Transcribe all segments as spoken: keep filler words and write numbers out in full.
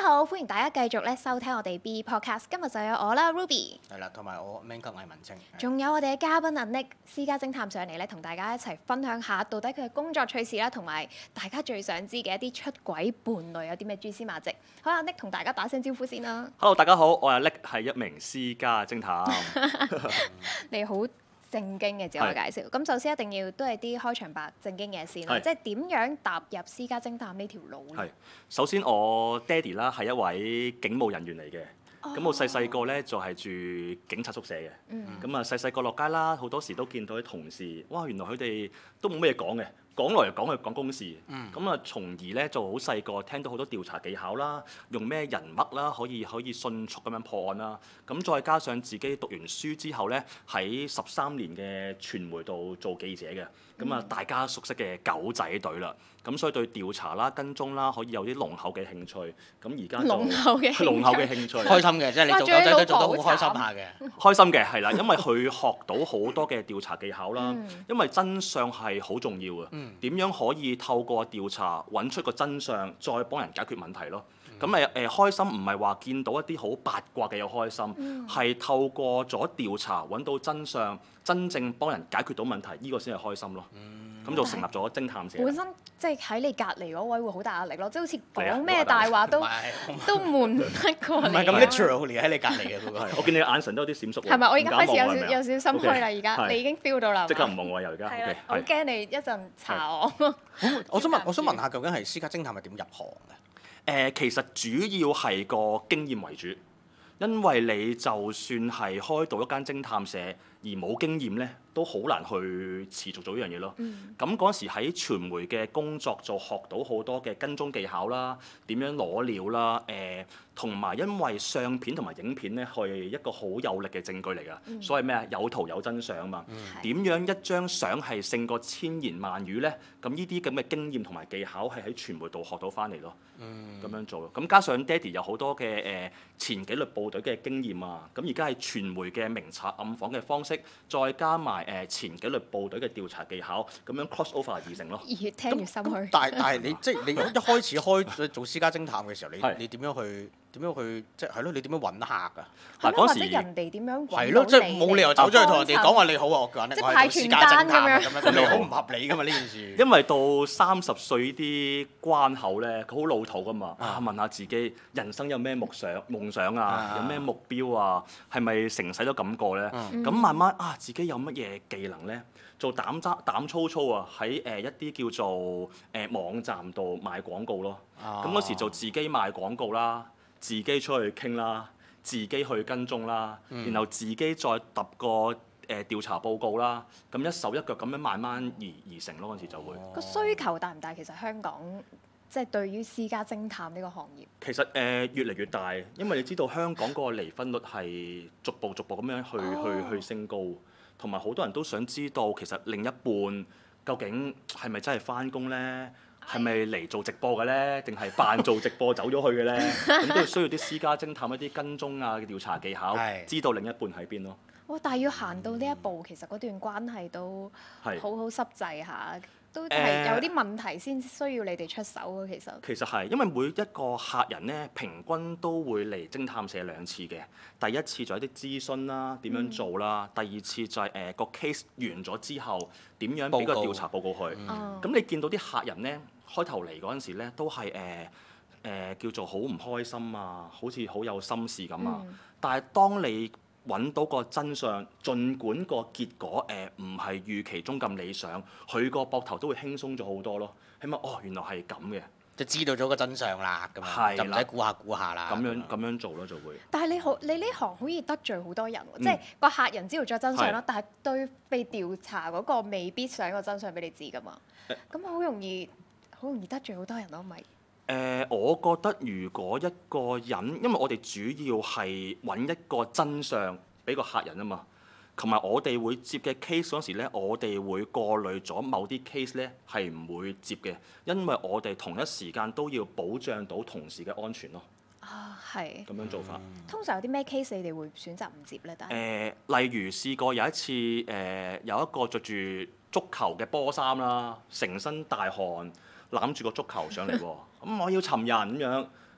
好，歡迎大家繼續咧收聽我哋 B Podcast。今日就有我啦 ，Ruby。 係啦，同埋我 Man 級魏文清。 仲有我哋嘅嘉賓阿 Nick 私家偵探上嚟咧，同大家一齊分享下到底佢嘅工作趣事啦，同埋大家最想知嘅一啲出軌伴侶有啲咩蛛絲馬跡。好，阿 Nick 同大家打聲招呼先啦。 Hello， 大家好，我係 Nick，係一名私家偵探。 你好。正經嘅自我介紹，咁首先一定要都係啲開場白正經嘢先啦，即係點樣踏入私家偵探呢條路咧？係首先我爹哋啦係一位警務人員嚟嘅，咁、oh. 我細細個咧就係、是、住警察宿舍嘅，咁啊細細個落街啦，好多時都見到啲同事，哇原來佢哋都冇咩嘢講嘅。講來講去講公事，咁啊、嗯、從而咧就好細個聽到好多調查技巧啦，用咩人物啦可以可以迅速咁樣破案啦，咁再加上自己讀完書之後咧喺十三年嘅傳媒度做記者嘅，咁啊、嗯、大家熟悉嘅狗仔隊啦，咁所以對調查啦跟蹤啦可以有啲濃厚嘅興趣，咁而家就濃厚嘅濃厚嘅興趣， 開心嘅，即係你做狗仔隊做得好開心下嘅， 開心嘅係啦，因為佢學到好多嘅調查技巧啦，嗯、因為真相係好重要嘅。嗯點樣可以透過調查揾出個真相，再幫人解決問題咯？咁誒誒開心唔係話見到一啲好八卦嘅有開心，係、嗯、透過咗調查揾到真相，真正幫人解決到問題，呢、呢個先係開心咯。咁、嗯、就成立咗偵探社。本身即係喺你隔離嗰位會好大壓力咯，即係好似講咩大話都都瞞唔得過你。 唔係咁 literally 喺你隔離嘅嗰個。 我見你眼神都有啲閃縮喎。 係咪？我而家開始有少有少心虛啦，而家 Okay, 你已經 feel 到啦。 即刻唔望我又而家。 係啊，我驚你一陣查我。 我想問，我想問下，究竟係私家偵探係點入行嘅？ 誒、呃、其實主要係個經驗為主，因為你就算係開到一間偵探社而冇經驗咧，都好難去持續做呢樣嘢咯。咁嗰陣時喺傳媒嘅工作就學到好多嘅跟蹤技巧啦，點樣攞料啦，誒同埋因為相片同埋影片咧係一個好有力嘅證據嚟㗎，嗯、所謂咩啊有圖有真相啊嘛。點、嗯、樣一張相係勝過千言萬語咧？咁呢啲咁嘅經驗同埋技巧係喺傳媒度學到翻嚟咯。咁、嗯、樣做咯。咁加上爹哋有好多嘅誒、呃、前紀律部隊嘅經驗啊，咁而家係傳媒嘅明察暗訪嘅方式，再加埋誒、呃、前紀律部隊嘅調查技巧，咁樣 cross over 而成咯。 越聽越心虛。 但係但係你即係你一開始開做私家偵探嘅時候，你你點樣去？點樣去即係係咯？你點樣揾客啊？ 係咯，或者人哋點樣揾係咯，即係冇理由走出去同人哋講話你好啊！我講咧，我係私家偵探咁樣，你好唔合理噶嘛呢件事。 因為到三十歲呢啲關口咧，佢好老土噶嘛。啊，問下自己人生有咩夢想、夢想啊？有咩目標啊？係咪成世都咁過咧？咁慢慢啊，自己有乜嘢技能咧？做膽揸膽粗粗啊！喺誒一啲叫做誒網站度賣廣告咯。咁嗰時就自己賣廣告啦。自己出去傾啦，自己去跟蹤啦，嗯、然後自己再揼個誒、呃、調查報告啦，咁一手一腳咁樣慢慢而而成咯，嗰陣時就會。 個需求大唔大？其實香港即係、就是、對於私家偵探呢個行業。 其實誒、呃、越嚟越大，因為你知道香港個離婚率係逐步逐步咁樣去、哦、去去升高，同埋好多人都想知道其實另一半究竟係咪真係返工咧？係咪嚟做直播嘅咧？定係扮做直播走咗去嘅咧？咁都要需要啲私家偵探一啲跟蹤啊嘅調查技巧，知道另一半喺邊咯。 哇！但係要行到呢一步，其實嗰段關係都好好濕滯下，都係有啲問題先需要你哋出手啊。其實其實係因為每一個客人咧，平均都會嚟偵探社兩次嘅。第一次就係啲諮詢啦，點樣做啦；嗯、第二次就係誒個 case 完咗之後，點樣俾個調查報告佢。咁、嗯嗯、你見到啲客人咧，開頭嚟嗰陣時咧，都係誒誒叫做好唔開心啊，好似好有心事咁啊。嗯、但係當你揾到個真相，儘管個結果誒唔係預期中咁理想，佢個膊頭都會輕鬆咗好多咯。起碼哦，原來係咁嘅， 就知道咗個真相啦，咁樣就唔使估下估下啦。 咁樣咁樣做咯，就會。 但係你好，你呢行好易得罪好多人喎，嗯、即係個客人知道咗真相啦，是但係對被調查嗰個未必想個真相俾你知噶嘛。咁好、欸、容易，好容易得罪好多人咯，咪？ 誒、呃，我覺得如果一個人，因為我哋主要係揾一個真相俾個客人啊嘛，同埋我哋會接嘅 case 嗰時咧，我哋會過濾咗某啲 case 咧係唔會接嘅，因為我哋同一時間都要保障到同事嘅安全咯。 啊，係。咁樣做法。 嗯、通常有啲咩 case 你哋會選擇唔接咧？但係誒、 呃，例如試過有一次誒、呃，有一個着住足球嘅波衫啦，成身大汗，攬住個足球上嚟喎，咁我要尋人咁樣，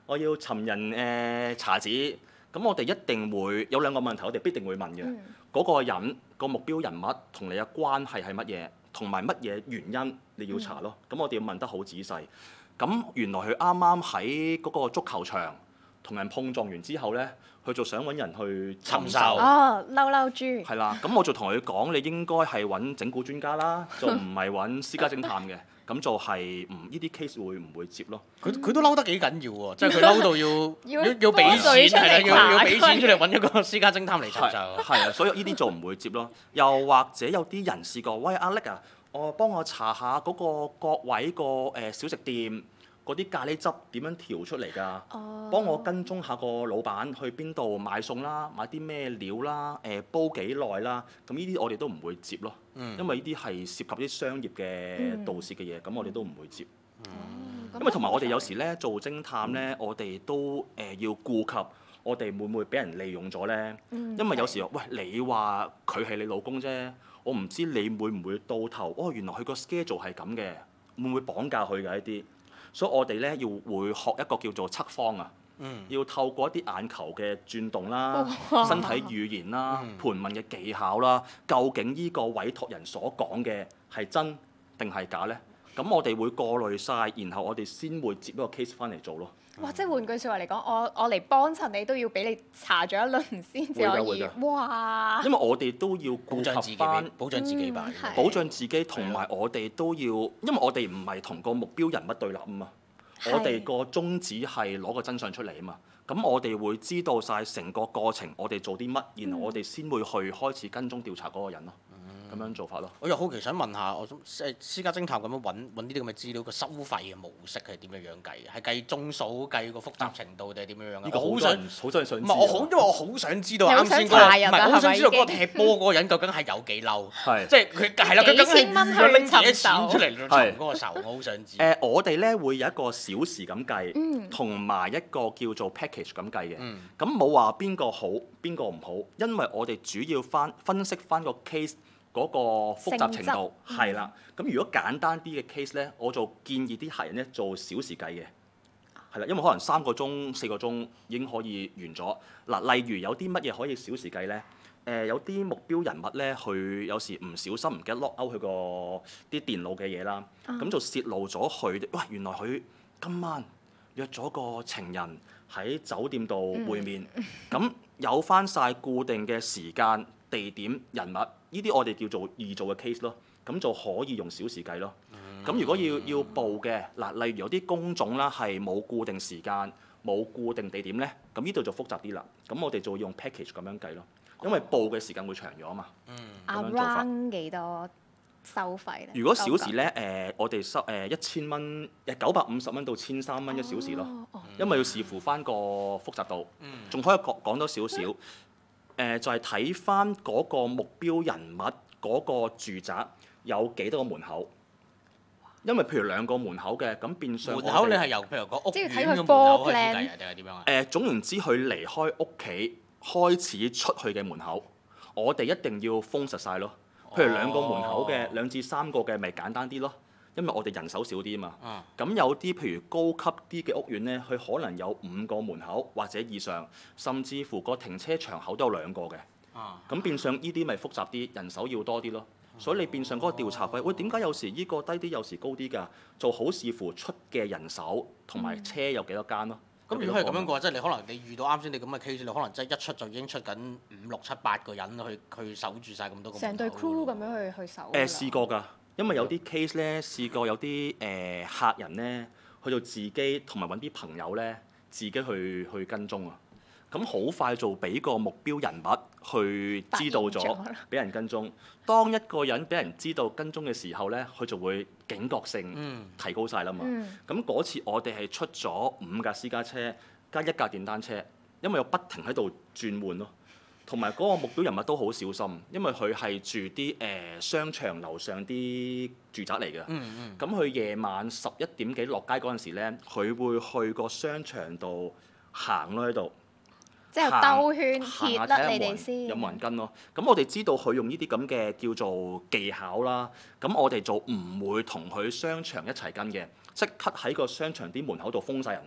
我要尋人誒、呃、查子，咁我哋一定會有兩個問題，我哋必定會問嘅。嗰、嗯、個人個目標人物同你嘅關係係乜嘢，同埋乜嘢原因你要查咯。咁、嗯、我哋要問得好仔細。咁原來佢啱啱喺嗰個足球場同人碰撞完之後咧，佢就想揾人去尋仇。 哦，嬲嬲豬。 係啦，咁我就同佢講，你應該係揾整蠱專家啦，就唔係揾私家偵探嘅。咁就係唔呢啲 case 會唔會接咯？ 佢佢都嬲得幾緊要喎，即係佢嬲到要要要俾錢係啦，要要俾錢出嚟揾一個私家偵探嚟尋仇。 係啊，所以呢啲就唔會接咯。又或者有啲人試過，喂阿叻啊，我幫我查下嗰個角位個誒小食店嗰啲咖喱汁點樣調出嚟㗎？哦、幫我跟蹤下個老闆去邊度買餸啦，買啲咩料啦，誒、呃、煲幾耐啦？咁呢啲我哋都唔會接咯。嗯、因為呢啲係涉及啲商業嘅盜竊嘅嘢，咁、嗯、我哋都唔會接。嗯、因為同埋我哋有時咧做偵探咧，嗯、我哋都誒、呃、要顧及我哋會唔會俾人利用咗咧？嗯、因為有時喂你話佢係你老公啫，我唔知你會唔會到頭哦，原來佢個 schedule 係咁嘅，會唔會綁架佢嘅一啲？所以我哋咧要會學一個叫做測謊啊，嗯、要透過一啲眼球嘅轉動啦、哇身體語言啦、嗯、盤問嘅技巧啦，究竟呢個委託人所講嘅係真定係假咧？咁我哋會過濾晒，然後我哋先會接一個 case 翻嚟做咯。 哇！即係換句説話嚟講，我我嚟幫襯你都要俾你查咗一輪先至可以。哇！ 因為我哋都要顧及翻保障自己吧， 嗯、 保障自己，同埋我哋都要，因為我哋唔係同個目標人物對立啊嘛。是我哋個宗旨係攞個真相出嚟啊嘛。咁我哋會知道晒成個過程，我哋做啲乜，然後我哋先會去開始跟蹤調查嗰個人咯。咁樣做法咯。 我又好奇想問下，我誒私家偵探咁樣揾揾呢啲咁嘅資料，個收費嘅模式係點樣樣計嘅？係計鐘數、計個複雜程度定係點樣樣啊？ 呢個好想好想想知。 唔係我好，因為我好想知道啱先嗰個，唔係好想知道嗰個踢波嗰個人究竟係有幾嬲？係即係佢係啦，佢究竟係拎幾多錢出嚟尋嗰個仇？我好想知。 誒，我哋咧會有一個小時咁計，同埋一個叫做 package 咁計嘅。咁冇話邊個好，邊個唔好，因為我哋主要翻分析翻個 case。嗰個複雜程度係啦，咁、嗯、如果簡單啲嘅 case 咧，我就建議啲客人咧做小時計嘅，係啦，因為可能三個鐘、四個鐘已經可以完咗。嗱，例如有啲乜嘢可以小時計咧？誒、呃，有啲目標人物咧，佢有時唔小心唔記得 lock out 佢個啲電腦嘅嘢啦，咁、嗯、就泄露咗佢。哇！原來佢今晚約咗個情人喺酒店度會面，咁、嗯、有翻晒固定嘅時間、地點、人物。呢啲我哋叫做易做嘅 case 咯，咁就可以用小時計咯。咁、嗯、如果要要報嘅嗱，例如有啲工種啦係冇固定時間、冇固定地點咧，咁呢度就複雜啲啦。咁我哋就會用 package 咁樣計咯，因為報嘅時間會長咗啊嘛。嗯。 Around 幾多收費咧？ 如果小時咧，誒、呃、我哋收誒一千蚊，誒九百五十蚊到千三蚊一小時咯。哦哦、因為要視乎翻個複雜度。仲、嗯、可以講講多少少。嗯誒、呃、就係睇翻嗰個目標人物嗰個住宅有幾多個門口，因為譬如兩個門口嘅，咁變相門口你係由譬如個屋苑嘅門口開始計啊，定係點樣啊？誒、 呃、總言之，佢離開屋企開始出去嘅門口，我哋一定要封實晒咯。譬如兩個門口嘅，兩、哦、至三個嘅，咪簡單啲咯。因為我哋人手少啲啊嘛，咁、嗯、有啲譬如高級啲嘅屋苑咧，佢可能有五個門口或者以上，甚至乎個停車場口都有兩個嘅。咁、嗯、變相呢啲咪複雜啲，人手要多啲咯。嗯、所以你變相嗰個調查費，喂點解有時呢個低啲，有時高啲㗎？就好視乎出嘅人手同埋車有幾多間咯。 咁、嗯、如果係咁樣嘅話，即係你可能你遇到啱先你咁嘅 case，你可能真係一出就已經出緊五六七八個人去去守住晒咁多個門口。成隊 crew 咁樣去去守。誒、呃、試過㗎。因為有啲 case 咧，試過有啲誒、呃、客人咧，去到自己同埋揾啲朋友咧，自己去去跟蹤啊。咁好快就俾個目標人物去知道咗，俾人跟蹤。當一個人俾人知道跟蹤嘅時候咧，佢就會警覺性提高晒啦嘛。咁嗰、嗯、次我哋係出咗五架私家車加一架電單車，因為我不停喺度轉換咯。同埋嗰個目標人物都好小心，因為佢係住啲誒、呃、商場樓上啲住宅嚟嘅。咁佢夜晚十一點幾落街嗰陣時咧，佢會去個商場度行咯喺度。即係兜圈貼得你哋先。有冇人跟咯？咁我哋知道佢用呢啲咁嘅叫做技巧啦。咁我哋就唔會同佢商場一齊跟嘅，即刻喺個商場啲門口度封晒人咯。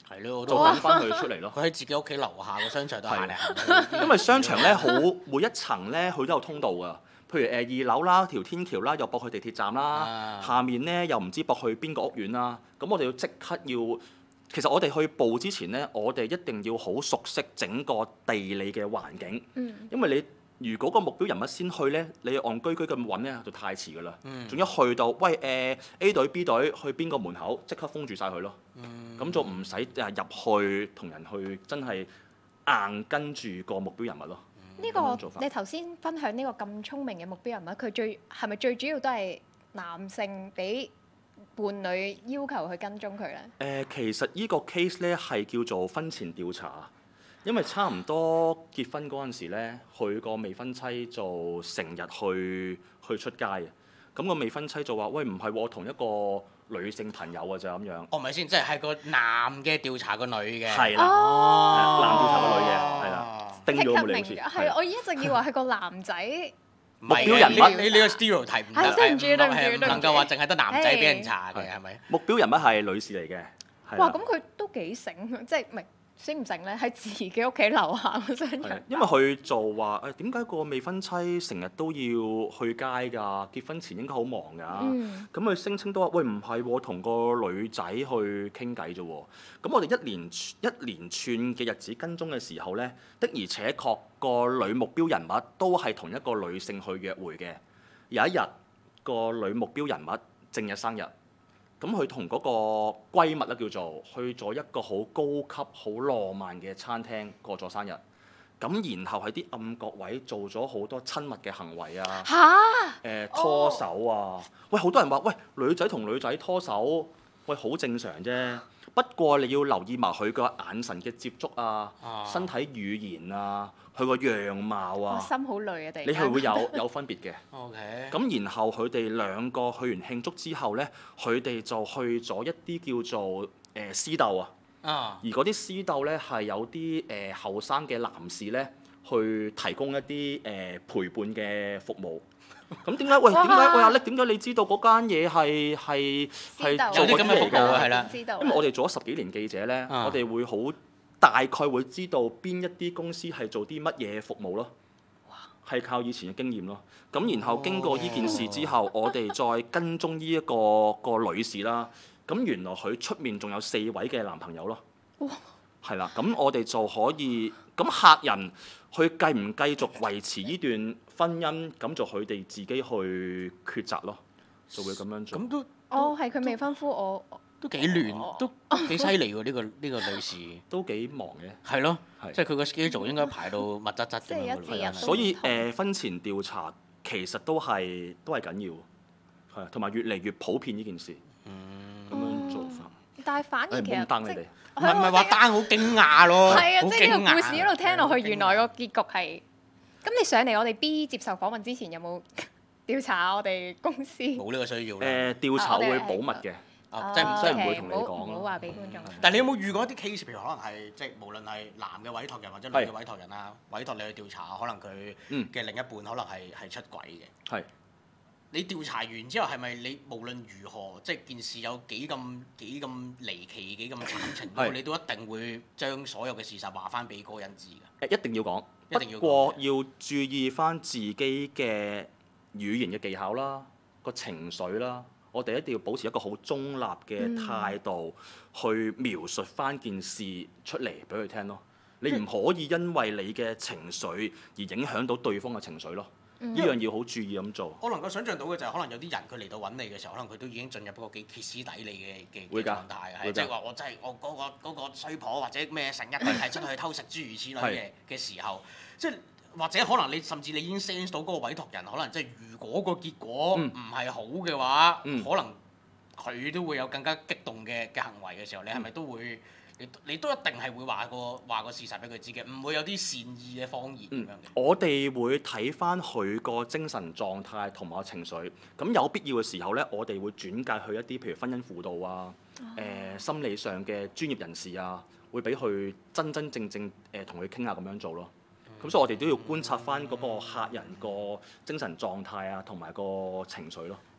係咯，我就等翻佢出嚟咯。 佢喺自己屋企樓下個商場度行嚟行去。 因為商場咧好每一層咧佢都有通道㗎。譬如誒二樓啦，條天橋啦，又駁去地鐵站啦，啊、下面咧又唔知駁去邊個屋苑啦。咁我哋要即刻要，其實我哋去報之前咧，我哋一定要好熟悉整個地理嘅環境，嗯、因為你如果個目標人物先去咧，你戇居居咁揾咧就太遲㗎啦。仲、嗯、一去到，喂誒、呃、A 隊 B 隊去邊個門口，即刻封住晒佢咯。咁、嗯、就唔使誒入去同人去真係硬跟住個目標人物咯。 呢、這個你頭先分享呢個咁聰明嘅目標人物，佢最係咪最主要都係男性俾伴侶要求去跟蹤佢咧？誒、 呃，其實呢個 case 咧係叫做婚前調查，因為差唔多結婚嗰陣時咧，佢個未婚妻就成日去去出街嘅。咁個未婚妻就話：喂，唔係喎，我同一個女性朋友啊，就咁樣。 哦，唔係先，即係係個男嘅調查個女嘅。 係啦， 哦、 男調查個女嘅，係啦。定咗冇理好似。 係，我一直以為係個男仔。 目標人物， 你你呢個 stereotype 唔得， 對唔住對唔住， 唔能夠話淨係得男仔俾人查嘅，係咪？ 目標人物係女士嚟嘅。 哇！咁佢都幾醒，即係唔係醒唔醒咧？喺自己屋企樓下個商場。 因為佢就話誒點解個未婚妻成日都要去街㗎？結婚前應該好忙㗎。咁佢聲稱都話：喂，唔係喎，同個女仔去傾偈啫喎。咁我哋一連一連串嘅日子跟蹤嘅時候咧，的而且確個女目標人物都係同一個女性去約會嘅。有一日個女目標人物正日生日。咁佢同嗰個閨蜜咧叫做去咗一個好高級、好浪漫嘅餐廳過咗生日，咁然後喺啲暗角位做咗好多親密嘅行為啊，誒哈、 呃、拖手啊，喂好多人話喂女仔同女仔拖手，喂好正常啫，不過你要留意埋佢個眼神嘅接觸啊，啊身體語言啊。佢個樣貌啊， 心好累啊！突然間， 你係會有有分別嘅。 OK。 咁然後佢哋兩個去完慶祝之後咧，佢哋就去咗一啲叫做誒私鬥啊。啊。而嗰啲私鬥咧係有啲誒後生嘅男士咧去提供一啲誒、呃、陪伴嘅服務。咁點解？喂，點解？喂阿叻，點解你知道嗰間嘢係係係做嗰啲嚟㗎？係啦。因為我哋做咗十幾年記者咧，啊、我哋會好。大概會知道邊一啲公司係做啲乜嘢服務咯，係靠以前嘅經驗咯。咁然後經過呢件事之後，我哋再跟蹤呢一個個女士啦。咁原來佢出面仲有四位嘅男朋友咯。係啦，咁我哋就可以，咁客人去繼唔繼續維持呢段婚姻，咁就佢哋自己去抉擇咯，就會咁樣做。 咁都哦，係佢未婚夫我。 都幾亂，都幾犀利喎！呢個呢個女士都幾忙嘅。係咯，即係佢個 schedule 應該排到密質質咁樣。 所以誒，婚前調查其實都係都係緊要，係同埋越嚟越普遍呢件事。咁樣做法。 但係反而其實唔係唔係話單好驚訝咯， 係啊！即係呢個故事一路聽落去，原來個結局係。咁你上嚟我哋 B 接受訪問之前，有冇調查我哋公司？ 冇呢個需要。 誒，調查會保密嘅。 啊、即係唔即係唔會同你講唔好話俾觀眾。 但係你有冇遇過一啲 case，譬如可能係即係無論係男嘅委託人或者女嘅委託人啊，是委託你去調查，可能佢嘅另一半可能係係出軌嘅。係是。你調查完之後，係咪你無論如何，即係件事有幾咁幾咁離奇、幾咁慘情，是你都一定會將所有嘅事實話翻俾嗰個人知㗎？誒， 一定要講。 一定要講。 不過要注意翻自己嘅語言嘅技巧啦，個情緒啦。我哋一定要保持一個好中立嘅態度，去描述翻件事出嚟俾佢聽咯。你唔可以因為你嘅情緒而影響到對方嘅情緒咯。呢樣要好注意咁做。 我能夠想像到嘅就係可能有啲人佢嚟到揾你嘅時候，可能佢都已經進入一個幾歇斯底里嘅嘅狀態，係即係話我真係我嗰個嗰個衰婆或者咩成日係出去偷食諸如此類嘅嘅時候，即係。或者可能你甚至你已經 sense 到嗰個委託人，可能即係如果個結果唔係好嘅話，嗯、可能佢都會有更加激動嘅嘅行為嘅時候，你係咪都會你你都一定係會話個話個事實俾佢知嘅，唔會有啲善意嘅謊言咁樣嘅、嗯。我哋會睇翻佢個精神狀態同埋情緒，咁有必要嘅時候咧，我哋會轉介去一啲譬如婚姻輔導啊、誒、呃、心理上嘅專業人士啊，會俾佢真真正正誒同佢傾下咁樣做咯。咁所以我哋都要觀察翻嗰個客人個精神狀態啊，同埋個情緒咯。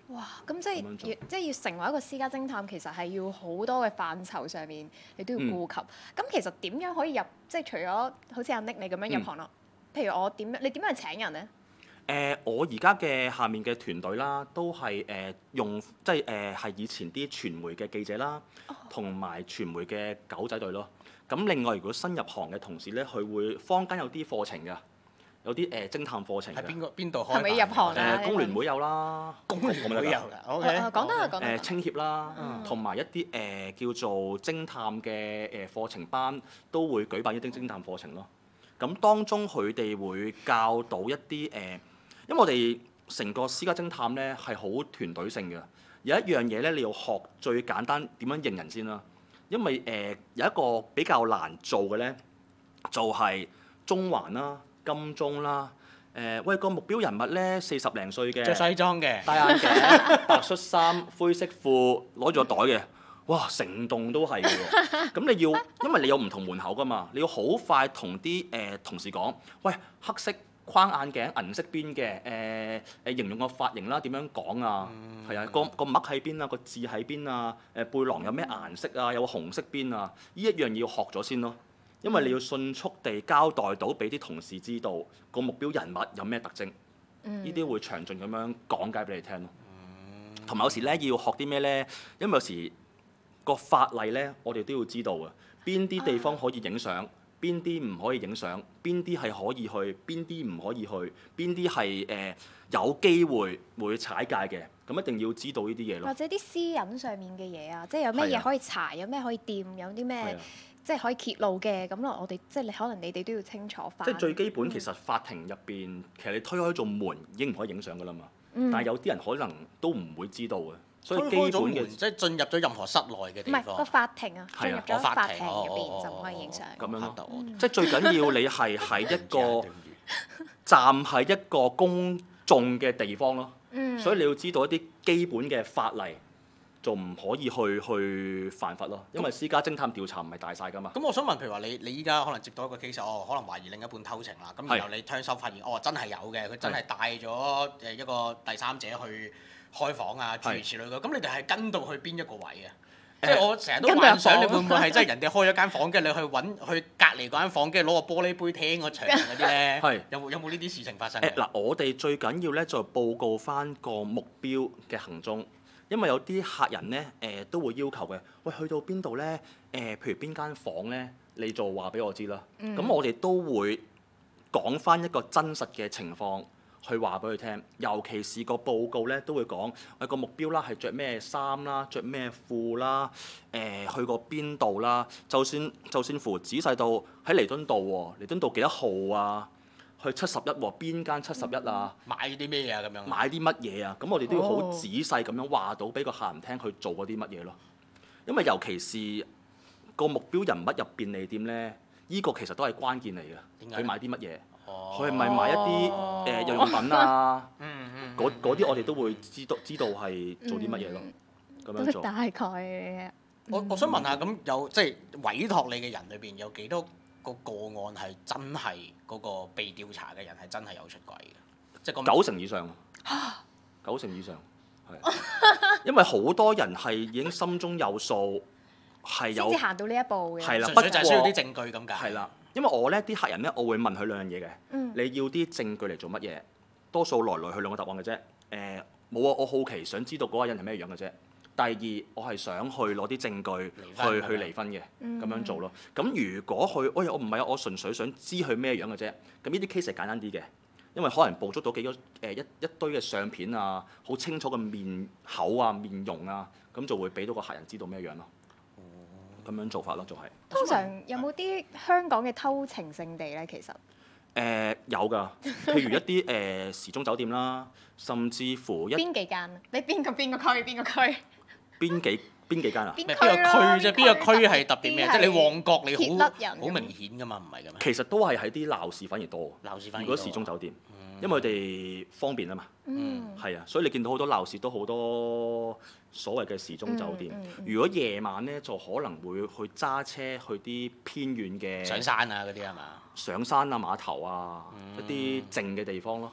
哇！咁即係要即係要成為一個私家偵探，其實係要好多嘅範疇上面你都要顧及。咁、嗯、其實點樣可以入？即係除咗好似阿 Nick 你咁樣入行咯，嗯、譬如我點樣？你點樣去請人咧？誒、 呃，我而家嘅下面嘅團隊啦，都係誒、呃、用即係誒係以前啲傳媒嘅記者啦，同埋、哦、傳媒嘅狗仔隊咯。咁另外，如果新入行嘅同事咧，佢會坊間有啲課程㗎。有啲誒、呃、偵探課程嘅， 喺邊個邊度開？ 係咪入行啊？ 誒工聯會有啦， 工聯會有㗎。O K。 講得啊，講得。 誒青協啦，同埋、嗯、一啲誒、呃、叫做偵探嘅誒課程班，都會舉辦一啲偵探課程咯。咁當中佢哋會教到一啲誒、呃，因為我哋成個私家偵探咧係好團隊性嘅。有一樣嘢咧，你要學最簡單點樣認人先啦。因為誒、呃、有一個比較難做嘅咧，就係、是、中環啦。金鐘啦，誒、呃、喂個目標人物咧四十零歲嘅， 着西裝嘅， 戴眼鏡，白恤衫，灰色褲，攞住個袋嘅，哇成棟都係嘅喎。咁你要，因為你有唔同門口㗎嘛，你要好快同啲誒同事講，喂黑色框眼鏡，銀色邊嘅，誒誒形容個髮型啦，點樣講啊？係、嗯、啊，個個墨喺邊啊，個字喺邊啊？誒背囊有咩顏色啊？有個紅色邊啊？呢一樣要學咗先咯。因為你要迅速地交代到俾啲同事知道個目標人物有咩特徵，呢啲、嗯、會詳盡咁樣講解俾你聽咯。同埋、嗯、有時咧要學啲咩咧？因為有時個法例咧，我哋都要知道啊。邊啲地方可以影相，邊啲唔可以影相，邊啲係可以去，邊啲唔可以去，邊啲係誒有機會會踩界嘅。咁一定要知道呢啲嘢咯。或者啲私隱上面嘅嘢啊，即係有咩嘢可以查，有咩可以掂，有啲咩。即係可以揭露嘅，咁咯，我哋即係你可能你哋都要清楚翻。 即係最基本，其實法庭入邊，其實你推開咗門，已經唔可以影相噶啦嘛。嗯、但係有啲人可能都唔會知道嘅，所以基本嘅即係進入咗任何室內嘅地方。 唔係個法庭啊，進入咗法庭入邊就唔可以影相。 咁樣咯，嗯、即係最緊要你係喺一個站喺一個公眾嘅地方咯。嗯、所以你要知道一啲基本嘅法例。就唔可以去去犯法咯，因為私家偵探調查唔係大晒㗎嘛。 咁我想問，譬如話你你依家可能接到一個 case，哦，可能懷疑另一半偷情啦，咁然後你聽收發現，哦真係有嘅，佢真係帶咗誒一個第三者去開房啊，諸如此類嘅。咁你哋係跟到去邊一個位啊？即係我成日都幻想你會唔會係真係人哋開咗間房，跟住你去揾去隔離嗰間房，跟住攞個玻璃杯聽個牆嗰啲咧？係有冇有冇呢啲事情發生？ 誒嗱，我哋最緊要咧就報告翻個目標嘅行蹤。因為有啲客人咧，誒、呃、都會要求嘅，喂去到邊度咧？誒、呃，譬如邊間房咧，你就話俾我知啦。咁、嗯、我哋都會講翻一個真實嘅情況去話俾佢聽，尤其是個報告咧都會講，喂個目標啦係着咩衫啦，着咩褲啦，誒、呃、去過邊度啦，就算就算乎仔細到喺彌敦道喎，彌敦道幾多號啊？去七十一喎，邊間七十一啊？ 買啲咩啊？咁樣買啲乜嘢啊？咁我哋都要好仔細咁樣話到俾個客人聽，佢做嗰啲乜嘢咯。因為尤其是個目標人物入便利店咧，呢、這個其實都係關鍵嚟嘅。佢買啲乜嘢？佢係咪買一啲誒日用品啊？嗰啲我哋都會知道知道係做啲乜嘢咯。咁、嗯、樣做。 大概。 我我想問下，咁有即係委託你嘅人裏邊有幾多個個案係真係嗰個被調查嘅人係真係有出軌嘅，即係九成以上，九成以上係，因為好多人係已經心中有數，係有先至行到呢一步嘅， 係啦， 純粹就係需要啲證據咁解。 係啦，因為我咧啲客人咧，我會問佢兩樣嘢嘅，嗯、你要啲證據嚟做乜嘢？多數來來去兩個答案嘅啫，誒冇啊，我好奇想知道嗰個人係咩樣嘅啫。第二，我係想去攞啲證據去離去離婚嘅，咁、嗯、樣做咯。咁如果佢，喂，我唔係啊，我純粹想知佢咩樣嘅啫。咁呢啲 case 係簡單啲嘅，因為可能捕捉到幾個誒、呃、一一堆嘅相片啊，好清楚嘅面口啊、面容啊，咁就會俾到個客人知道咩樣咯。咁、嗯、樣做法咯，就係、是。 通常有冇啲香港嘅偷情聖地咧？其實誒、 呃、有㗎，譬如一啲誒、呃、時鐘酒店啦，甚至乎一邊幾間？你邊個邊個區？邊個區？ 邊幾邊幾間啊？ 邊個區啫？邊個區係特別咩？即係你旺角你好好明顯㗎嘛？唔係㗎咩？ 其實都係喺啲鬧市反而多。 鬧市反而多。 如果時鐘酒店，嗯、因為佢哋方便啊嘛。嗯。係啊，所以你見到好多鬧市都好多所謂嘅時鐘酒店。嗯嗯嗯、如果夜晚咧，就可能會去揸車去啲偏遠嘅。 上山啊！嗰啲係嘛？ 上山啊，碼頭啊，嗯、一啲靜嘅地方咯。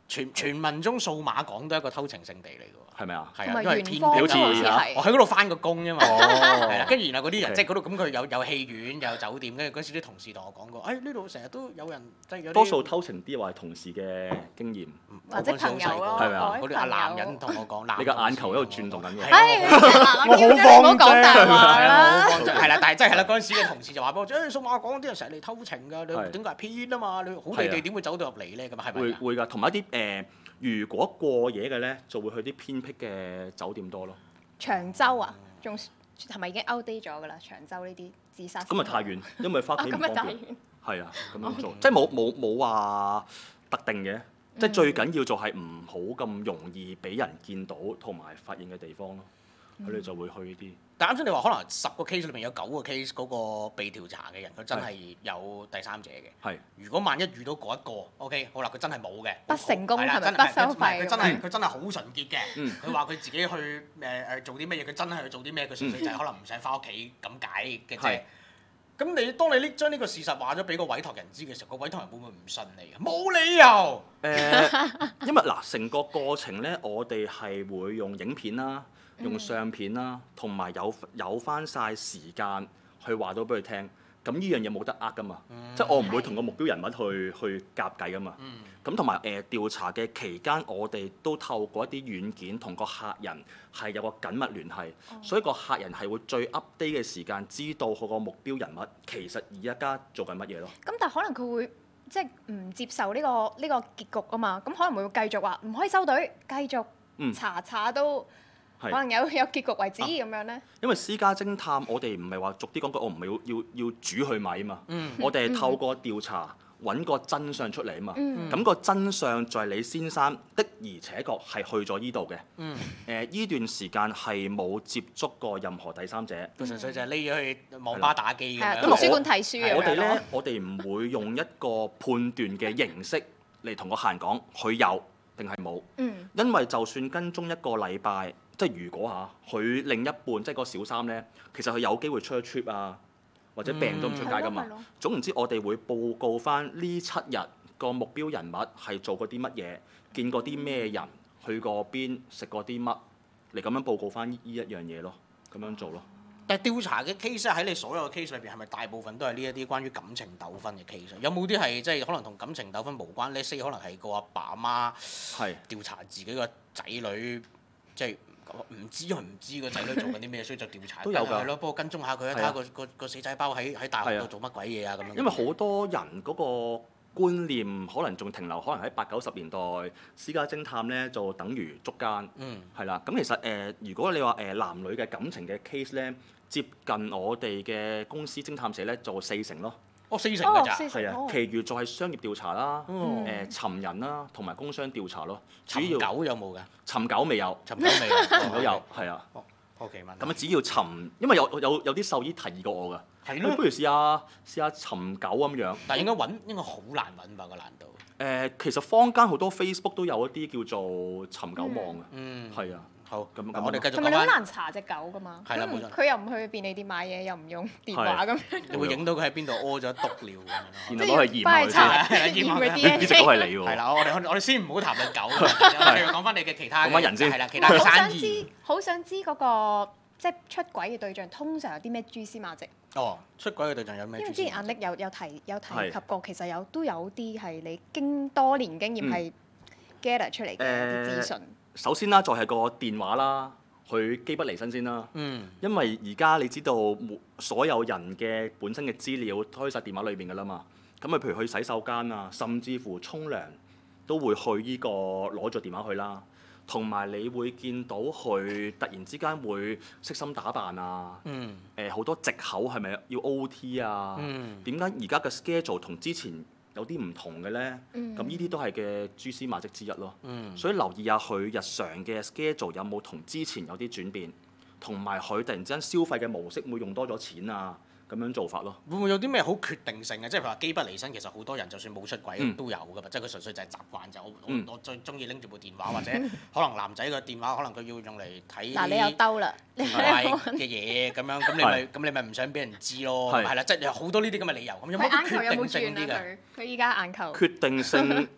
傳傳聞中數碼港都係一個偷情聖地嚟㗎喎， 係咪啊？ 係啊，因為偏僻好似我喺嗰度翻個工啫嘛，係啦，跟住然後嗰啲人 Okay. 即係嗰度咁佢有有戲院有酒店，跟住嗰時啲同事同我講過，誒呢度成日都有人即係有多數偷情啲話係同事嘅經驗， 或者朋友咯， 係咪啊？ 嗰啲阿男人同我講， 你個眼球喺度轉動緊嘅。 我好放講大話啦， 係啦，但係真係啦，嗰陣時嘅同事就話俾我知，誒數碼港啲人成日嚟偷情㗎，你點解係偏啊嘛？你好地地點會走到入嚟咧？咁係咪？ 會會㗎，同埋一啲誒，如果過夜嘅咧，就會去啲偏僻嘅酒店多咯。 長洲啊，仲係咪已經 outdate 咗㗎啦？長洲呢啲自殺咁咪太遠，因為翻屋企唔方便。 遠。 係啊，咁樣做，即係冇冇冇話特定嘅，即係最緊要就係唔好咁容易俾人見到同埋發現嘅地方咯。佢哋就會去呢啲。 但啱先你話可能十個 case 裏面有九個 case 嗰個被調查嘅人，佢真係有第三者嘅。 係。如果萬一遇到嗰一個 ，OK， 好啦，佢真係冇嘅， 不成功係咪不收費？ 佢真係佢真係好純潔嘅。佢話佢自己去誒誒做啲乜嘢，佢真係去做啲咩，佢純粹就係可能唔使翻屋企咁解嘅啫。咁你當你呢將呢個事實話咗俾個委託人知嘅時候，個委託人會唔會唔信你啊？冇理由。 誒，因為嗱，成個過程咧，我哋係會用影片啦。用相片啦，同埋有有翻晒時間去話到俾佢聽，咁呢樣嘢冇得呃噶嘛，嗯、即係我唔會同個目標人物去去夾計噶嘛。咁同埋誒調查嘅期間，我哋都透過一啲軟件同個客人係有個緊密聯繫，哦、所以個客人係會最 update 嘅時間知道佢個目標人物其實而家做緊乜嘢咯。 咁但係可能佢會即係唔接受呢、呢個呢、呢個結局啊嘛，咁可能會繼續話唔可以收隊，繼續查查都。嗯可能有有結局為止咁、啊、樣咧。因為私家偵探，我哋唔係話逐啲講句，我唔係要要要煮去米啊嘛。嗯、我哋係透過調查揾個真相出嚟啊嘛。咁、嗯、個真相就係李先生的而且確係去咗依度嘅。誒依、嗯呃、段時間係冇接觸過任何第三者。佢純粹就係匿咗去網吧打機咁樣。 圖書館睇書。 我哋咧，我哋唔會用一個判斷嘅形式嚟同個客人講佢有定係冇。嗯、因為就算跟蹤一個禮拜。即係如果嚇佢另一半即係個小三咧，其實佢有機會出咗 trip 啊，或者病咗唔出街噶嘛。嗯、總言之，我哋會報告翻呢七日個目標人物係做過啲乜嘢，見過啲咩人，去過邊，食過啲乜，嚟咁樣報告翻呢一樣嘢咯，咁樣做咯。 但係調查嘅 case 喺你所有嘅 case 裏邊，係咪大部分都係呢一啲關於感情糾紛嘅 case？有冇啲係即係可能同感情糾紛無關？呢 say 可能係個阿爸阿媽係調查自己個仔女，即係。唔知佢唔知個仔女做緊啲咩，所以就調查。都有㗎。係咯，幫我跟蹤下佢，睇下個個個死仔包喺喺大學度做乜鬼嘢啊咁樣。因為好多人嗰個觀念可能仲停留，可能喺八九十年代私家偵探咧就等於捉奸。嗯。係啦，咁其實誒、呃，如果你話誒、呃、男女嘅感情嘅 case 咧，接近我哋嘅公司偵探社咧，就四成咯。 哦，四成㗎咋？ 係啊，其餘就係商業調查啦，誒尋人啦，同埋工商調查咯。主要尋狗有冇㗎？ 尋狗未有， 尋狗未有，尋狗有， 係啊。 O K 問。 咁啊，只要尋，因為有有有啲獸醫提議過我㗎。係咯。不如試下試下尋狗咁樣。 但係應該揾應該好難揾吧個難度。 誒，其實坊間好多 Facebook 都有一啲叫做尋狗網嘅。嗯。係啊。好，咁咁我哋繼續講翻。 同埋你好難查隻狗㗎嘛？ 係啦，冇錯。 佢又唔去便利店買嘢，又唔用電話咁樣。 你會影到佢喺邊度屙咗篤尿咁樣。 然後攞去驗佢先。 驗佢 D N A。 呢隻狗係你喎。 係啦，我哋我哋先唔好談論狗，繼續講翻你嘅其他。 講翻人先。 係啦，其他嘅生意。 好想知嗰個即係出軌嘅對象，通常有啲咩蛛絲馬跡？ 哦，出軌嘅對象有咩？ 因為之前阿 Nick 有有提有提及過，其實有都有啲係你經多年經驗係 gather 出嚟嘅資訊。 首先啦，就係個電話啦。佢機不離身先啦，嗯、因為而家你知道所有人嘅本身嘅資料都喺晒電話裏邊㗎啦嘛，咁啊譬如去洗手間啊，甚至乎沖涼都會去呢、呢個攞咗電話去啦，同埋你會見到佢突然之間會悉心打扮啊，誒好、嗯呃、多藉口係咪要 O T 啊？點解而家嘅 schedule 同之前有啲唔同嘅咧，咁呢啲都係嘅蛛絲馬跡之一咯。嗯、所以留意下佢日常嘅 schedule 有冇同之前有啲轉變，同埋佢突然之間消費嘅模式會用多咗錢啊，咁樣做法咯。 會唔會有啲咩好決定性嘅？即係譬如話機不離身，其實好多人就算冇出軌、嗯、都有㗎嘛，即係佢純粹就係習慣就我、嗯、我最中意拎住部電話，或者可能男仔嘅電話可能佢要用嚟睇嗱你又兜啦嘅嘢咁樣，咁你咪咁你咪唔想俾人知咯，係啦，即係有好多呢啲咁嘅理由。咁有冇決定性啲嘅？ 佢依家眼球。 決定性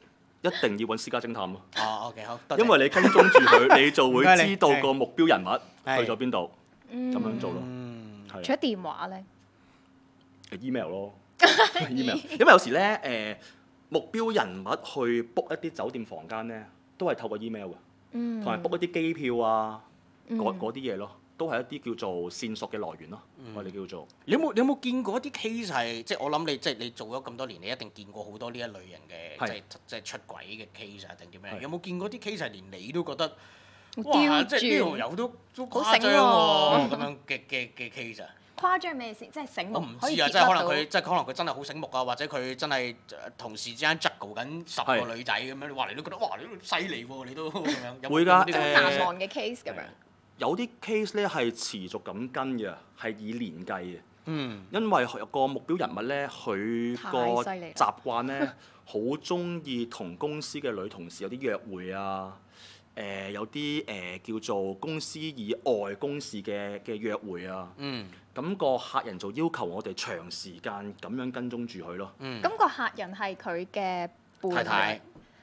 一定要揾私家偵探咯。 哦，OK，好， 因為你跟蹤住佢，你就會知道個目標人物去咗邊度，咁樣做咯。 除咗電話咧 ，email 咯 ，email。因為有時咧，誒目標人物去 book 一啲酒店房間咧，都係透過 email 嘅，同埋 book 一啲機票啊，嗰嗰啲嘢咯。都係一啲叫做線索嘅來源咯，嗯、我哋叫做。 你有冇你有冇見過一啲 case 係，即係我諗你即係你做咗咁多年，你一定見過好多呢一類型嘅， 是即係即係出軌嘅 case 啊，定點樣？ 是有冇見過啲 case 係連你都覺得， 刁哇！ 轉即係呢條友都都好誇張喎，咁樣嘅嘅嘅 case 啊？ 誇張咩先？即係醒目。 我唔知啊，即係可能佢即係可能佢真係好醒目啊，或者佢真係同時之間 juggle 緊十個女仔咁樣，哇！你都覺得哇，你都犀利喎，你都咁樣。 會㗎， 誒。好難忘嘅 case 咁樣。 有啲 case 咧係持續咁跟嘅，係以年計嘅。 嗯。 因為個目標人物咧，佢個習慣咧，好中意同公司嘅女同事有啲約會啊。誒、呃、有啲誒、呃、叫做公司以外公事嘅嘅約會啊。嗯。咁個客人就要求我哋長時間咁樣跟蹤住佢咯。嗯。 咁個客人係佢嘅太太。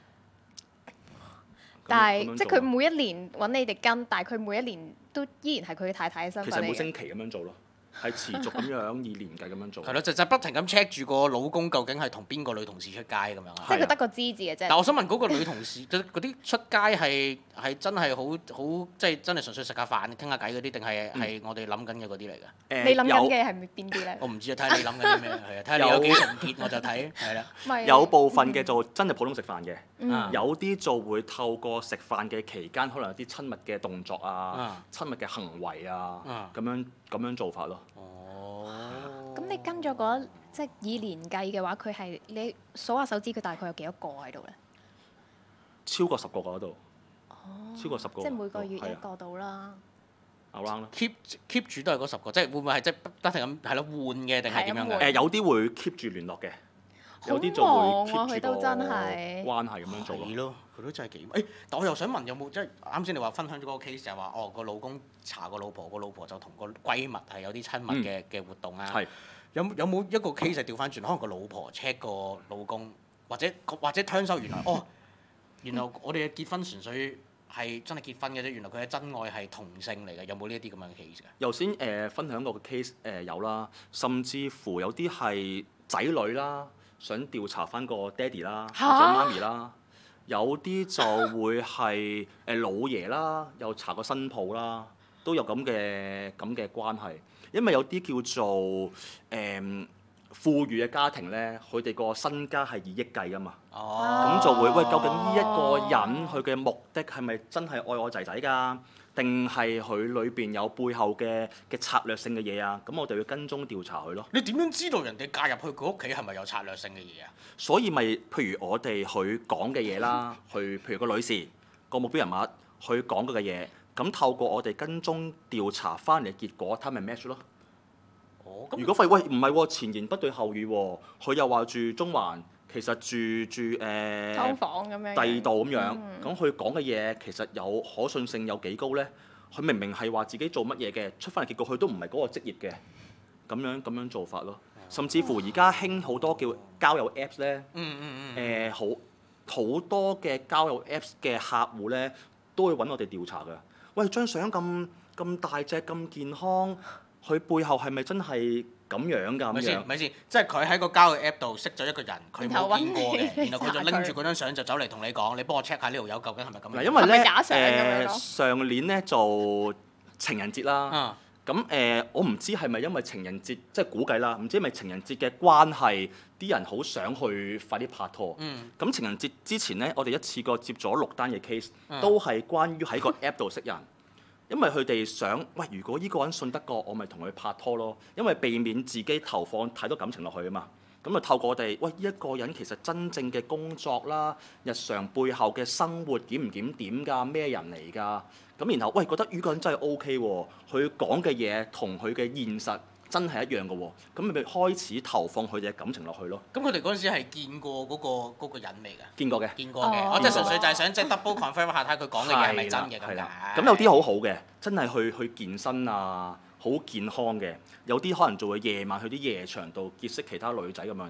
但係，即係佢每一年揾你哋跟，但係佢每一年都依然係佢太太嘅身份。 其實每星期咁樣做咯，係持續咁樣以年計咁樣做。 係咯，就就不停咁 check 住個老公究竟係同邊個女同事出街咁樣啊？ 即係佢得個知字嘅啫。 但我想問嗰個女同事，嗰啲出街係係真係好好，即係真係純粹食下飯、傾下偈嗰啲，定係係我哋諗緊嘅嗰啲嚟㗎？ 誒你諗緊嘅係邊啲咧？ 我唔知啊，睇下你諗緊啲咩，係啊，睇下你有幾純潔我就睇，係啦。 有部分嘅就真係普通食飯嘅， 嗯、 有啲就會透過食飯嘅期間，可能有啲親密嘅動作啊、嗯、親密嘅行為啊，咁、嗯、樣咁樣做法咯。 哦。 咁你跟咗嗰即係以年計嘅話，佢係你數下手指，佢大概有幾多個喺度咧？ 超過十個嗰度。 哦。 超過十個。 即係每個月一個到啦。 around 啦。 keep keep 住都係嗰十個，即係會唔會係即係不停咁係咯換嘅定係點樣嘅？ 誒有啲會 keep 住聯絡嘅，有啲就會 keep 住個關係咁樣做咯。 係咯，佢都真係幾誒，但我又想問有冇即係啱先你話分享咗嗰個 case 就係話哦個老公查個老婆，個老婆就同個閨蜜係有啲親密嘅嘅活動啊。係。有有冇一個 case 係調翻轉？可能個老婆 check 個老公，或者或者聽收原來哦，原來我哋嘅結婚純粹係真係結婚嘅啫。原來佢嘅真愛係同性嚟嘅。有冇呢一啲咁樣嘅 case 㗎？頭先誒分享過個 case 誒、呃、有啦，甚至乎有啲係仔女啦，想調查翻個爹哋啦或者媽咪啦，有啲就會係誒老爺啦，又查個新抱啦，都有咁嘅咁嘅關係。因為有啲叫做誒、嗯、富裕嘅家庭咧，佢哋個身家係以億計噶嘛，咁、哦、就會喂，究竟呢一個人佢嘅目的係咪真係愛我仔仔㗎？定係佢裏邊有背後嘅嘅策略性嘅嘢啊？咁我哋要跟蹤調查佢咯。 你點樣知道人哋嫁入去佢屋企係咪有策略性嘅嘢啊？ 所以咪譬如我哋佢講嘅嘢啦，去譬如個女士個目標人物佢講嗰嘅嘢。咁透過我哋跟蹤調查翻嚟嘅結果，睇咪 match 咯。哦，如果廢喂唔係喎，前言不對後語喎，佢又話住中環，其實住住誒，劏、呃、 房咁樣， 第二度咁樣，咁佢講嘅嘢其實有可信性有幾高咧？佢明明係話自己做乜嘢嘅，出翻嚟結果佢都唔係嗰個職業嘅，咁樣咁樣做法咯。甚至乎而家興好多叫交友 Apps 咧，嗯嗯嗯，誒好好多嘅交友 Apps 嘅客戶咧，都會揾我哋調查㗎。喂，張相咁咁大隻咁健康，佢背後係咪真係咁樣㗎？ 咪先，咪先，即係佢喺個交友 App 度識咗一個人，佢冇見過嘅，然後佢就拎住嗰張相就走嚟同你講，你幫我 check 下呢條友究竟係咪咁樣？ 因為咧誒、呃、 上年咧就情人節啦，咁誒、嗯呃、我唔知係咪因為情人節，即係估計啦，唔知係咪情人節嘅關係，啲人好想去快啲拍拖。咁、嗯、情人節之前咧，我哋一次過接咗六單嘅 case，都係關於喺個 app 度識人，因為佢哋想，喂，如果呢個人信得過，我咪同佢拍拖咯，因為避免自己投放太多感情落去啊嘛。咁就透過我哋，喂，呢一個人其實真正嘅工作啦，日常背後嘅生活檢唔檢點㗎？咩人嚟㗎？咁然後，喂，覺得呢個人真係 O K 喎，佢講嘅嘢同佢嘅現實真係一樣嘅喎，咁咪開始投放佢哋嘅感情落去咯。 咁佢哋嗰陣時係見過嗰個嗰個人未㗎？ 見過嘅。 見過嘅，我即係純粹就係想即係 double confirm 下睇佢講嘅嘢係咪真嘅咁解。 咁有啲好好嘅，真係去去健身啊，好健康嘅。有啲可能就會夜晚去啲夜場度結識其他女仔咁樣咯。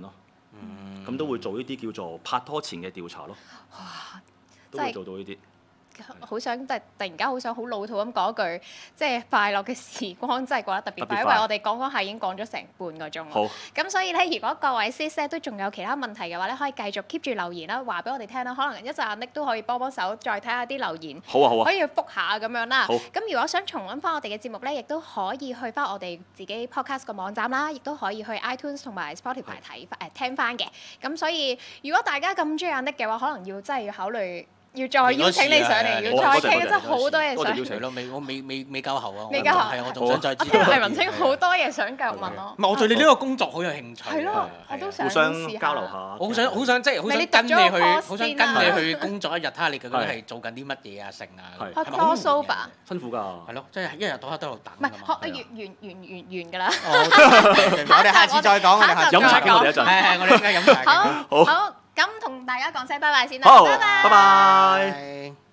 咁、嗯、都會做呢啲叫做拍拖前嘅調查咯。 哇！ 都會做到呢啲。 好想即係突然間好想好老土咁講一句，即係快樂嘅時光真係過得特別快，因為我哋講講下已經講咗成半個鐘。 好。 咁所以咧，如果各位 Sis 咧都仲有其他問題嘅話咧，可以繼續 keep 住留言啦，話俾我哋聽啦。可能一陣阿 Nick 都可以幫幫手，再睇下啲留言。 好啊好啊。 可以去覆下咁樣啦。 好。 咁如果想重溫翻我哋嘅節目咧，亦都可以去翻我哋自己 podcast 個網站啦，亦都可以去 iTunes 同埋 Spotify 睇翻誒聽翻嘅。咁所以如果大家咁中意阿 Nick 嘅話，可能要真係要考慮。要再邀請你上嚟，要再傾，真係好多嘢想。 邀請咯，未我未未未交喉啊！ 未交喉係啊，我仲想再知。 我聽黎文清好多嘢想繼續問咯。 唔係，我對你呢個工作好有興趣。 係咯，我都想互相交流下。 我好想好想即係好想跟你去，好想跟你去工作一日，睇下你究竟係做緊啲乜嘢啊，成啊。 開 crossover。 辛苦㗎。 係咯，即係一日到黑都喺度等。 唔係，學完完完完完㗎啦。 我哋下次再講，我哋下次飲茶傾我哋一陣。 係係，我哋而家飲茶。 好，好，咁同大家講聲拜拜先啦。 好， 拜拜。 拜拜。